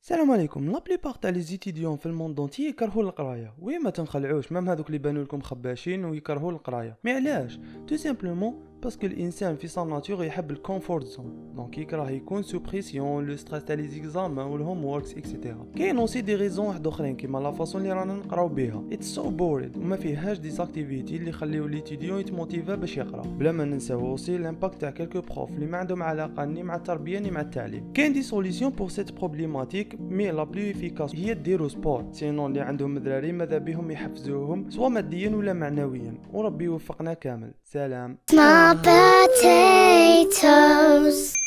السلام عليكم. لا بليبار تاع لي زيتيديون في الموند اونتي يكرهوا القرايه، وي ما تنخلعوش، مام هذوك اللي بانوا لكم خباشين ويكرهوا القرايه. مي علاش؟ تو سامبلومون باسكو الانسان في سان ناتور يحب الكومفورت زون، دونك يكره يكون سو بريسيون، لو ستريس تاع لي زيكزامان والهوم ووركس اكسيتيرا. كاين اوسي دي ريزون واحد اخرين كيما لا فاصون اللي رانا نقراو بها، اتس سو بوريد وما فيهاش دي اكتيفيتي اللي يخليو ليتيديون يتموتيفا باش يقرا. بلا ما ننساو اوسي لامباكت تاع كلكو بروف اللي ما عندهم علاقه ني مع التربيه ني مع التعليم. كاين دي سوليسيون بور سيت بروبليماتيك، مي لا بلو افيكاس هي ديرو سبور. سينون اللي عندهم دراري ماذا بهم يحفزوهم سواء ماديا ولا معنويا، وربي يوفقنا كامل. سلام. Small potatoes.